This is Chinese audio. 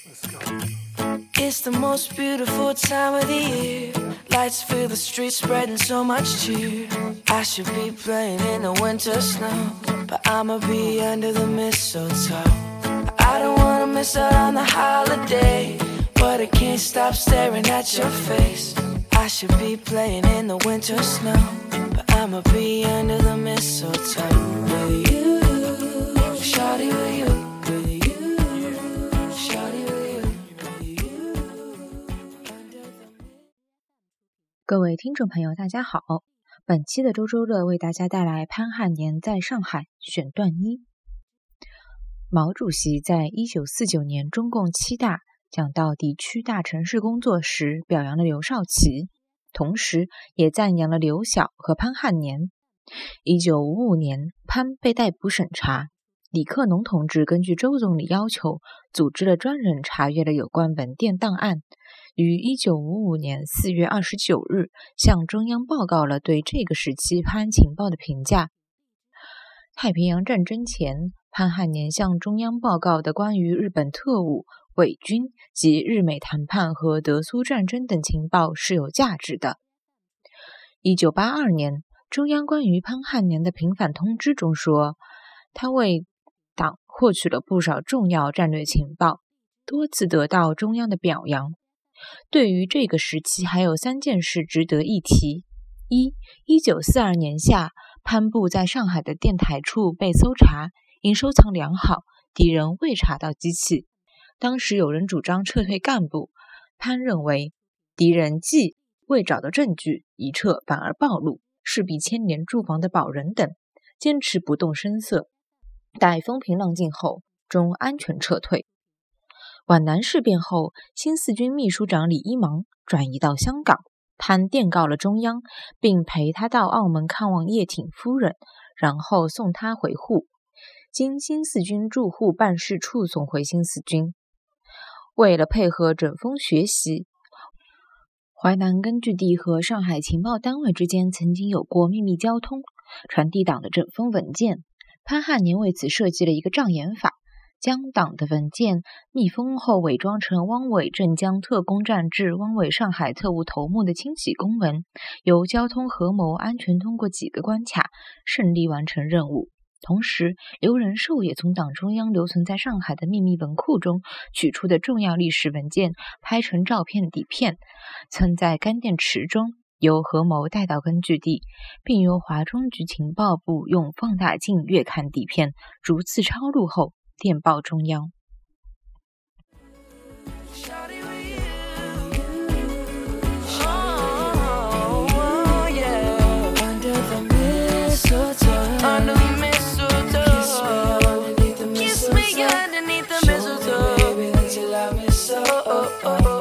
It's the most beautiful time of the year. Lights fill the streets, spreading so much cheer. I should be playing in the winter snow, but I'ma be under the mistletoe. I don't wanna miss out on the holiday, but I can't stop staring at your face. I should be playing in the winter snow, but I'ma be under the mistletoe. With you, shawty, with you. 各位听众朋友大家好，本期的周周乐为大家带来潘汉年在上海选段一。毛主席在1949年中共7大讲到地区大城市工作时表扬了刘少奇，同时也赞扬了刘晓和潘汉年。1955年潘被逮捕审查，李克农同志根据周总理要求组织了专人查阅了有关文件档案，于1955年4月29日向中央报告了对这个时期潘情报的评价。太平洋战争前，潘汉年向中央报告的关于日本特务、伪军及日美谈判和德苏战争等情报是有价值的。1982年，中央关于潘汉年的平反通知中说，他为党获取了不少重要战略情报，多次得到中央的表扬。对于这个时期还有3件事值得一提。1942年夏，潘部在上海的电台处被搜查，因收藏良好，敌人未查到机器。当时有人主张撤退干部，潘认为敌人既未找到证据，一撤反而暴露，势必牵连驻防的保人等，坚持不动声色，待风平浪静后，终安全撤退。皖南事变后，新四军秘书长李一芒转移到香港，潘电告了中央，并陪他到澳门看望叶挺夫人，然后送他回沪，经新四军驻沪办事处送回新四军。为了配合整风学习，淮南根据地和上海情报单位之间曾经有过秘密交通，传递党的整风文件。潘汉年为此设计了一个障眼法，将党的文件密封后伪装成汪伪镇江特工战至汪伪上海特务头目的清洗公文，由交通合谋安全通过几个关卡，顺利完成任务。同时，刘仁寿也从党中央留存在上海的秘密文库中取出的重要历史文件拍成照片底片，存在干电池中，由合谋带到根据地，并由华中局情报部用放大镜阅看底片，逐次抄录后电报中央。 Kiss me underneath the mistletoe. Kiss me underneath the mistletoe. Baby, let your love me so.